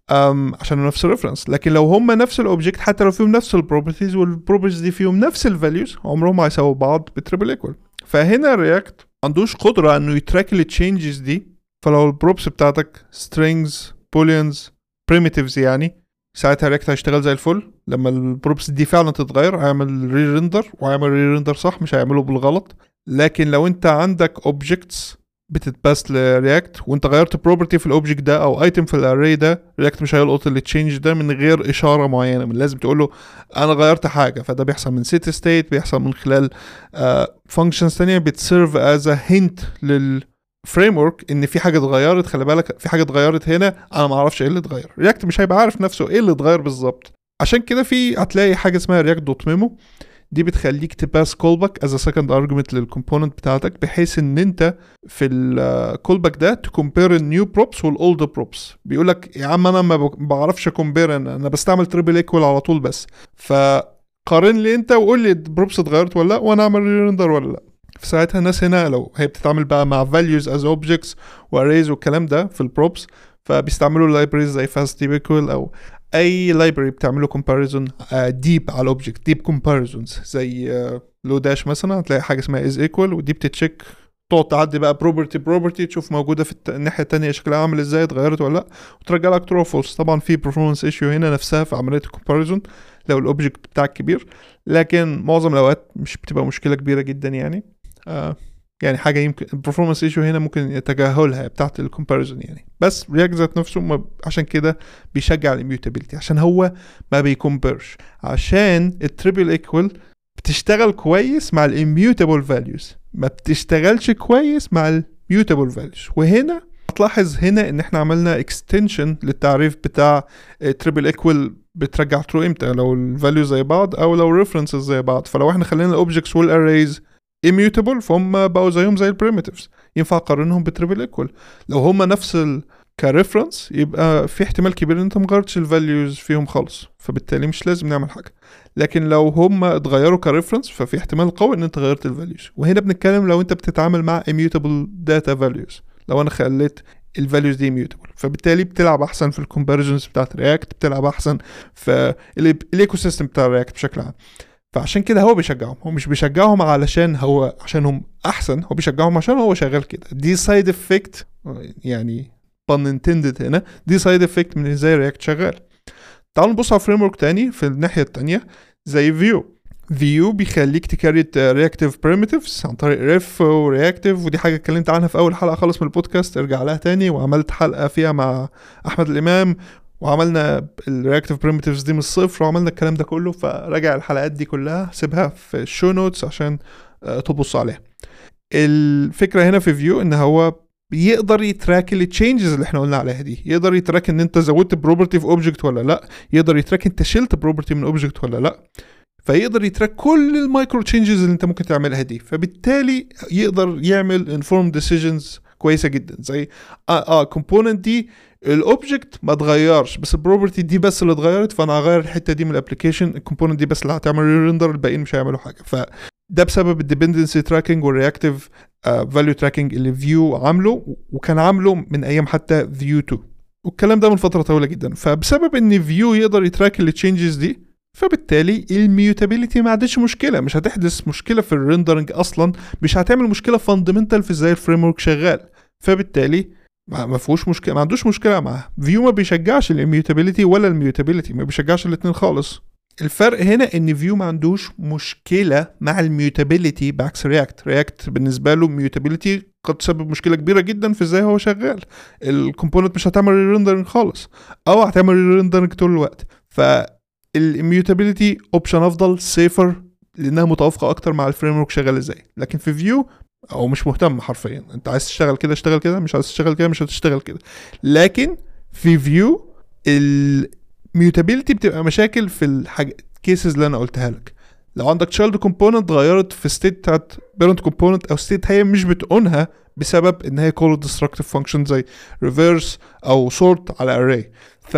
عشان نفس الريفرنس. لكن لو هم نفس الاوبجكت حتى لو فيهم نفس البروبرتيز والبروبرتيز دي فيهم نفس الفاليوز عمرهم ما هيساووا بعض بتريبل ايكوال. فهنا رياكت ما عندوش قدره انه يتراك التشينجز دي. فلو البروبس بتاعتك strings booleans primitives يعني ساعتها رياكت هيشتغل زي الفل. لما البروبس دي فعلا تتغير هيعمل ري ريندر وهيعمل ري ريندر صح، مش هيعمله بالغلط. لكن لو انت عندك objects بتتباس لرياكت وانت غيرت بروبرتي في الاوبجكت ده او ايتم في الاري ده، رياكت مش هيلقط التشينج ده من غير اشاره معينه. من لازم تقول له انا غيرت حاجه. فده بيحصل من set state، بيحصل من خلال functions ثانيه بتسيرف از ا هنت للفريم ورك ان في حاجه اتغيرت. خلي بالك في حاجه اتغيرت هنا، انا ما اعرفش ايه اللي اتغير. رياكت مش هيبقى عارف نفسه ايه اللي اتغير بالظبط. عشان كده هتلاقي حاجه اسمها react دوت ميمو، دي بتخليك تباس كولباك از سكند ارجمنت للكومبوننت بتاعتك، بحيث ان انت في الكولباك ده تكمبير النيو بروبس والاولد بروبس. بيقول لك يا عم انا ما بعرفش كومبير، انا بستعمل تريبل ايكوال على طول بس، فقارن لي انت وقول لي البروبس اتغيرت ولا لا وانا اعمل ريندر ولا لا. في ساعتها الناس هنا لو هي بتتعامل بقى مع values as objects واريز والكلام ده في البروبس، فبيستعملوا لايبريز زي فاست ديب ايكوال او اي لايبرري بتعملوا كومباريزون ديب على الاوبجكت، ديب كومباريزونز زي لو داش مثلا. هتلاقي حاجه اسمها از ايكوال ودي بتتشيك، تقعد تعدي بقى بروبرتي تشوف موجوده في الناحيه الثانيه شكلها عامل ازاي، اتغيرت ولا لا، وترجع لك ترو فولس. طبعا في performance ايشيو هنا نفسها في عمليه الكومباريزون لو الاوبجكت بتاعك كبير، لكن معظم الاوقات مش بتبقى مشكله كبيره جدا يعني. يعني حاجه يمكن البرفورمانس ايشو هنا ممكن يتجاهلها بتاعت الكومباريزون يعني. بس رياكت ذات نفسه عشان كده بيشجع الاميوتابيلتي، عشان هو ما بيكمبرش، عشان التريبل ايكوال بتشتغل كويس مع الاميوتابل فاليوز، ما بتشتغلش كويس مع الميوتابل فاليوز. وهنا هتلاحظ هنا ان احنا عملنا اكستنشن للتعريف بتاع تريبل ايكوال بترجع ترو امتى، لو الفاليو زي بعض او لو ريفرنسز زي بعض. فلو احنا خلينا الاوبجكتس والاريز immutable فهم بقوا زيهم زي البريميتيفز، ينفع اقارنهم بتريبل ايكوال. لو هم نفس كريفرنس يبقى في احتمال كبير ان انت مغيرتش الفاليوز فيهم خالص، فبالتالي مش لازم نعمل حاجه. لكن لو هم اتغيروا كريفرنس ففي احتمال قوي ان انت غيرت الفاليوز. وهنا بنتكلم لو انت بتتعامل مع immutable data values، لو انا خليت الفاليوز دي immutable، فبالتالي بتلعب احسن في الكومباريزونز بتاعت رياكت، بتلعب احسن في الايكو سيستم بتاع رياكت بشكل عام. فعشان كده هو بيشجعهم. هو مش بيشجعهم عشانهم احسن، هو بيشجعهم عشان هو شغال كده. دي سايد افكت يعني pun intended هنا، دي سايد افكت من ازاي رياكت شغال. تعالوا نبص على فريم ورك تاني في الناحيه التانيه زي فيو بيخليك تكريت رياكتيف بريميتيفز عن طريق ريف ورياكتيف، ودي حاجه اتكلمت عنها في اول حلقه خالص من البودكاست، ارجع لها تاني. وعملت حلقه فيها مع احمد الامام وعملنا الرياكتيف بريميتيفز دي من الصفر وعملنا الكلام ده كله، فراجع الحلقات دي كلها سيبها في الشو نوتس عشان تبص عليها. الفكره هنا في فيو ان هو بيقدر يتراك التشينجز اللي احنا قلنا عليها دي، يقدر يتراك ان انت زودت بروبرتي في اوبجكت ولا لا، يقدر يتراك انت شلت بروبرتي من اوبجكت ولا لا، فيقدر يتراك كل المايكرو تشينجز اللي انت ممكن تعملها دي. فبالتالي يقدر يعمل انفورم ديسيجنز كويسه جدا، زي كومبوننت دي الاوبجكت ما اتغيرش بس البروبرتي دي بس اللي اتغيرت، فانا هغير الحته دي من الابلكيشن، الكومبوننت دي بس اللي هتعمل ريندر، الباقيين مش هيعملوا حاجه. فده بسبب الديبندنسي تراكنج والرياكتيف فاليو تراكنج اللي فيو عامله، وكان عامله من ايام حتى فيو 2، والكلام ده من فتره طويله جدا. فبسبب ان فيو يقدر يتراك التشينجز دي، فبالتالي الميوتابيليتي ما عادش مشكله، مش هتحدث مشكله في الريندرنج اصلا، مش هتعمل مشكله فاندمنتال في ازاي الفريم ورك شغال. فبالتالي ما فيهوش مشكله، ما عندوش مشكله معاه. فيو ما بيشجعش الاميوتابيليتي ولا الميوتابيليتي، ما بيشجعش الاثنين خالص. الفرق هنا ان فيو ما عندوش مشكله مع الميوتابيليتي بعكس رياكت بالنسبه له الميوتابيليتي قد تسبب مشكله كبيره جدا في ازاي هو شغال. الكومبوننت مش هتعمل ريندرنج خالص او هتعمل ريندرنج طول الوقت. فالاميوتابيليتي اوبشن افضل، سيفر، لانها متوافقه اكتر مع الفريم ورك شغال ازاي. لكن في فيو او مش مهتم حرفيا، انت عايز تشتغل كده اشتغل كده، مش عايز تشتغل كده مش هتشتغل كده. لكن في فيو الميوتابيليتي بتبقى مشاكل في الحاجه كيسز اللي انا قلتها لك. لو عندك تشايلد كومبوننت غيرت في ستيت بتاعت بيرنت كومبوننت او ستيت هي مش بتقونها بسبب ان هي كول ديستركتيف فانكشن زي ريفيرس او سورت على اري،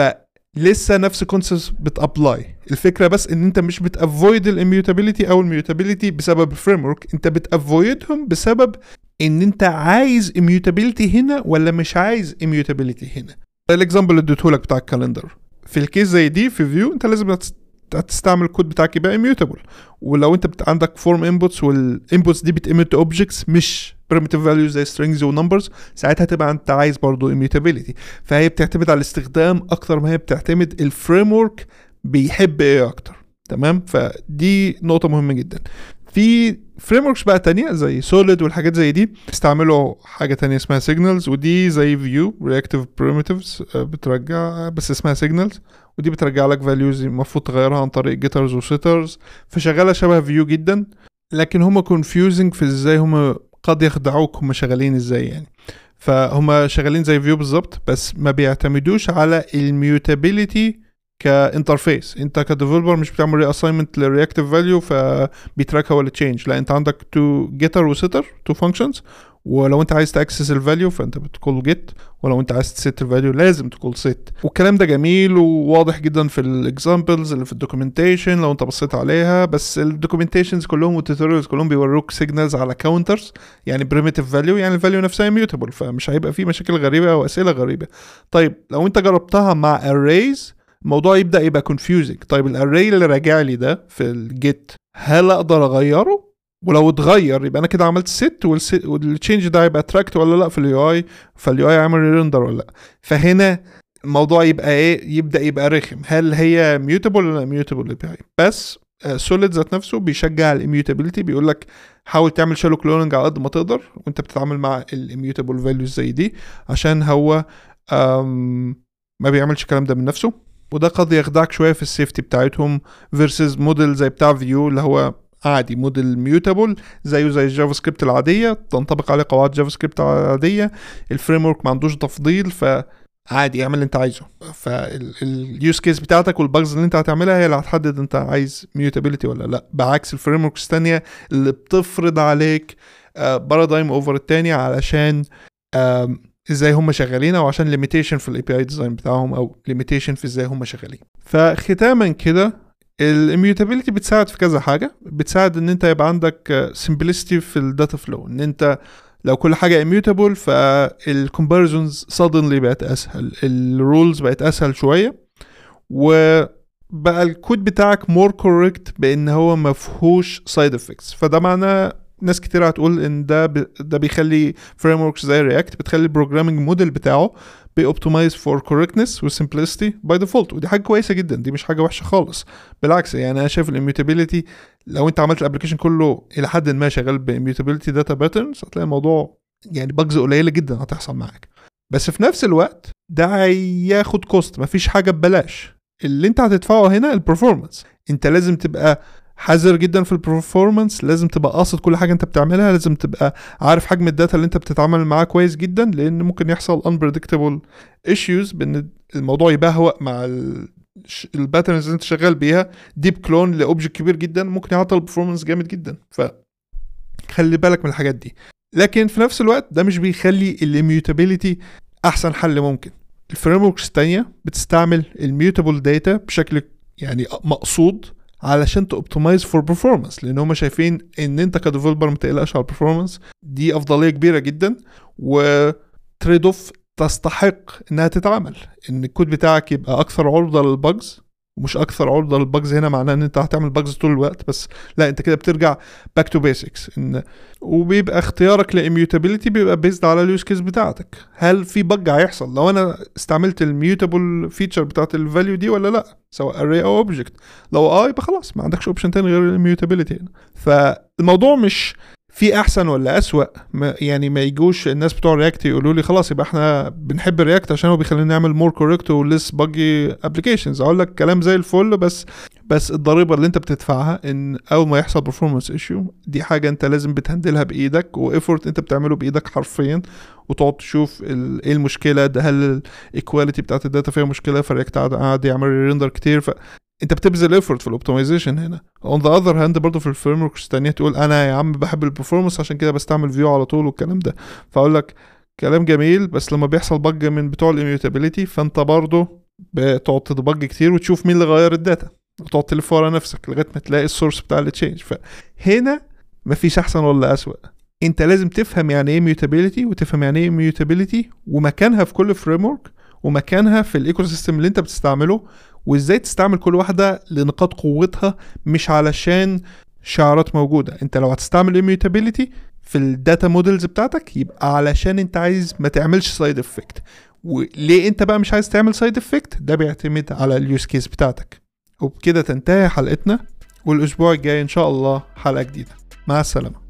فلسه نفس كونسبت بتابلاي. الفكره بس ان انت مش بتافويد الاميوتابيليتي او الميوتابيليتي بسبب الفريم ورك، انت بتافويدهم بسبب ان انت عايز اميوتابيليتي هنا ولا مش عايز اميوتابيليتي هنا. الاكزامبل اللي اديتهولك بتاع الكالندر، في الكيس زي دي في فيو انت لازم تستعمل الكود بتاعك يبقى immutable. ولو انت عندك فورم انبوتس والانبوتس دي بتemit اوبجكتس مش primitive values زي strings ونمبرز، ساعتها تبقى انت عايز برضو immutability. فهي بتعتمد على الاستخدام اكتر ما هي بتعتمد الفريم ورك بيحب ايه اكتر. تمام، فدي نقطة مهمة جدا. في فريم وركس بقى تانية زي سوليد والحاجات زي دي استعملوا حاجة تانية اسمها سيجنالز، ودي زي فيو رياكتيف بريميتيفز بترجع بس اسمها سيجنالز، ودي بترجع لك فاليوز المفروض تغيرها عن طريق جيترز وسيترز، فشغالة شبه فيو جدا. لكن هما كونفيوزنج في ازاي هما قد يخدعوك هما شغالين ازاي يعني. فهما شغالين زي فيو بالظبط بس ما بيعتمدوش على الميوتابيليتي كانترفيس. انت كديفلوبر مش بتعمل ري اساينمنت للرياكتيف فاليو فبيتراكها ولا تشينج، لا انت عندك تو جيتر وسيتر تو فانكشنز، ولو انت عايز تاكسس الفاليو فانت بتقول جيت، ولو انت عايز تسيت الفاليو لازم تقول سيت. والكلام ده جميل وواضح جدا في الاكزامبلز اللي في الدوكيومنتيشن لو انت بصيت عليها. بس الدوكيومنتيشنز كلهم والتوتوريالز كلهم بيوروك سيجنالز على كاونترز يعني بريميتيف فاليو، يعني الفاليو نفسها ميوتابل، فمش هيبقى فيه مشاكل غريبه او اسئله غريبه. طيب لو انت جربتها مع arrays الموضوع يبدأ يبقى confusing. طيب الاري اللي راجع لي ده في الجيت هل اقدر اغيره؟ ولو اتغير يبقى انا كده عملت set والتشينج ده يبقى تراكت ولا لا في اليو اي، فاليو اي عمل ريندر ولا لا. فهنا الموضوع يبقى ايه، يبدأ يبقى رخم، هل هي ميوتابل ولا ميوتابل API. بس سوليد ذات نفسه بيشجع الاميوتابيلتي، بيقول لك حاول تعمل شالو كلوننج على قد ما تقدر وانت بتتعامل مع الاميوتابل فاليوز زي دي، عشان هو ما بيعملش الكلام ده من نفسه، وده قد يخدعك شويه في السيفتي بتاعتهم فيرسز موديل زي بتاع فيو اللي هو عادي موديل ميوتابل زيه زي الجافا سكريبت العاديه، تنطبق عليه قواعد جافا سكريبت العاديه، الفريم ورك ما عندوش تفضيل فعادي اعمل اللي انت عايزه. فاليوز كيس بتاعتك والباجز اللي انت هتعملها هي اللي هتحدد انت عايز ميوتابيلتي ولا لا، بعكس الفريم وركس الثانيه اللي بتفرض عليك بارادايم اوفر الثاني علشان ازاي هم شغالين، او عشان ليميتيشن في الاي بي اي ديزاين بتاعهم، او ليميتيشن في ازاي هم شغالين. فختاما كده الاميوتابيلتي بتساعد في كذا حاجه، بتساعد ان انت يبقى عندك سمبلستي في الداتا فلو، ان انت لو كل حاجه immutable فالكومباريزونز suddenly بقت اسهل، الرولز بقت اسهل شويه، وبقى الكود بتاعك more correct بان هو مفهوش side effects. فده معناه ناس كتير هتقول ان ده بيخلي فريم وركس زي رياكت بتخلي البروجرامينج موديل بتاعه بيوبتمايز فور كوركتنس وسمبلسيتي باي ديفولت، ودي حاجه كويسه جدا، دي مش حاجه وحشه خالص، بالعكس. يعني انا شايف الاميوتابيلتي لو انت عملت الابلكيشن كله الى حد ما شغال باميوتابيلتي داتا باترنز هتلاقي الموضوع يعني باجز قليله جدا هتحصل معاك. بس في نفس الوقت ده هياخد كوست، مفيش حاجه ببلاش، اللي انت هتدفعه هنا البرفورمانس. انت لازم تبقى حذر جدا في البرفورمانس، لازم تبقى قاصد كل حاجه انت بتعملها، لازم تبقى عارف حجم الداتا اللي انت بتتعامل معاه كويس جدا، لان ممكن يحصل unpredictable issues بان الموضوع يبهوأ مع الباترنز اللي انت شغال بيها. ديب كلون لاوبجكت كبير جدا ممكن يعطل البرفورمانس جامد جدا، فخلي بالك من الحاجات دي. لكن في نفس الوقت ده مش بيخلي الاميوتابيلتي احسن حل ممكن. الفريم وركس الثانيه بتستعمل الميوتابل داتا بشكل يعني مقصود علشان تoptimize for performance، لان هم شايفين ان انت كديفلوبر ما تقلقش على البرفورمانس، دي افضليه كبيره جدا وتريد اوف تستحق انها تتعمل، ان الكود بتاعك يبقى اكثر عرضه للباجز، ومش اكثر عرضه للباجز هنا معناه ان انت هتعمل باجز طول الوقت، بس لا انت كده بترجع back to basics. ان وبيبقى اختيارك للاميوتابيلتي بيبقى بيزد على اليوز كيس بتاعتك، هل في بج هيحصل لو انا استعملت الميوتابل فيتشر بتاعت الفاليو دي ولا لا، سواء array او object. لو يبقى خلاص ما عندكش اوبشن تاني غير الميوتابيلتي هنا. فالموضوع مش في احسن ولا اسوأ، يعني ما يجوش الناس بتوع رياكت يقولوا لي خلاص يبقى احنا بنحب رياكت عشان هو بيخلينا نعمل مور كوريكت وليس باجي ابلكيشنز. اقول لك كلام زي الفل، بس الضريبه اللي انت بتدفعها ان اول ما يحصل performance issue دي حاجه انت لازم بتهندلها بايدك، وافورت انت بتعمله بايدك حرفيا، وتقعد تشوف ايه المشكله ده، هل الايكواليتي بتاعت الداتا فيها مشكله، فرياكت قاعد يعمل ريندر كتير، انت بتبذل ايفورت في الاوبتمايزيشن هنا. on the other hand برضه في الفريم وركس الثانيه تقول انا يا عم بحب البرفورمانس عشان كده بستعمل فيو على طول والكلام ده، فاقول لك كلام جميل، بس لما بيحصل بج من بتوع الاميوتابيلتي فانت برضه بتقعد تدبج كتير وتشوف مين اللي غير الداتا، وتقعد تلف ورا نفسك لغايه ما تلاقي السورس بتاع التشينج. فهنا مفيش احسن ولا اسوأ، انت لازم تفهم يعني ايه ميوتابيلتي، وتفهم يعني ايه ميوتابيلتي ومكانها في كل فريم ورك، ومكانها في الايكو سيستم اللي انت بتستعمله، وازاي تستعمل كل واحدة لنقاط قوتها، مش علشان شعارات موجودة. انت لو هتستعمل immutability في الداتا مودلز بتاعتك يبقى علشان انت عايز ما تعملش سايد افكت. وليه انت بقى مش عايز تعمل سايد افكت؟ ده بيعتمد على اليوز كيس بتاعتك. وبكده تنتهي حلقتنا، والاسبوع الجاي ان شاء الله حلقة جديدة. مع السلامة.